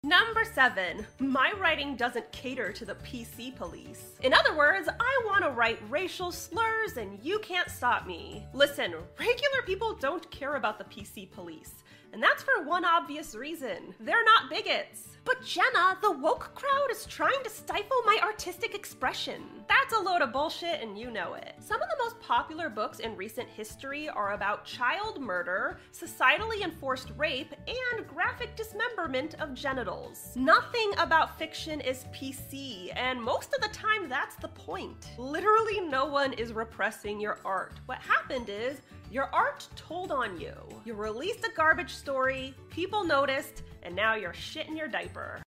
Number 7. My writing doesn't cater to the PC police. In other words, I want to write racial slurs and you can't stop me. Listen, regular people don't care about the PC police. And that's for one obvious reason. They're not bigots. But Jenna, the woke crowd is trying to stifle my artistic expression. That's a load of bullshit and you know it. Some of the most popular books in recent history are about child murder, societally enforced rape, and graphic dismemberment of genitals. Nothing about fiction is PC, and most of the time that's the point. Literally no one is repressing your art. What happened is, your art told on you. You released a garbage story, people noticed, and now you're shitting your diaper.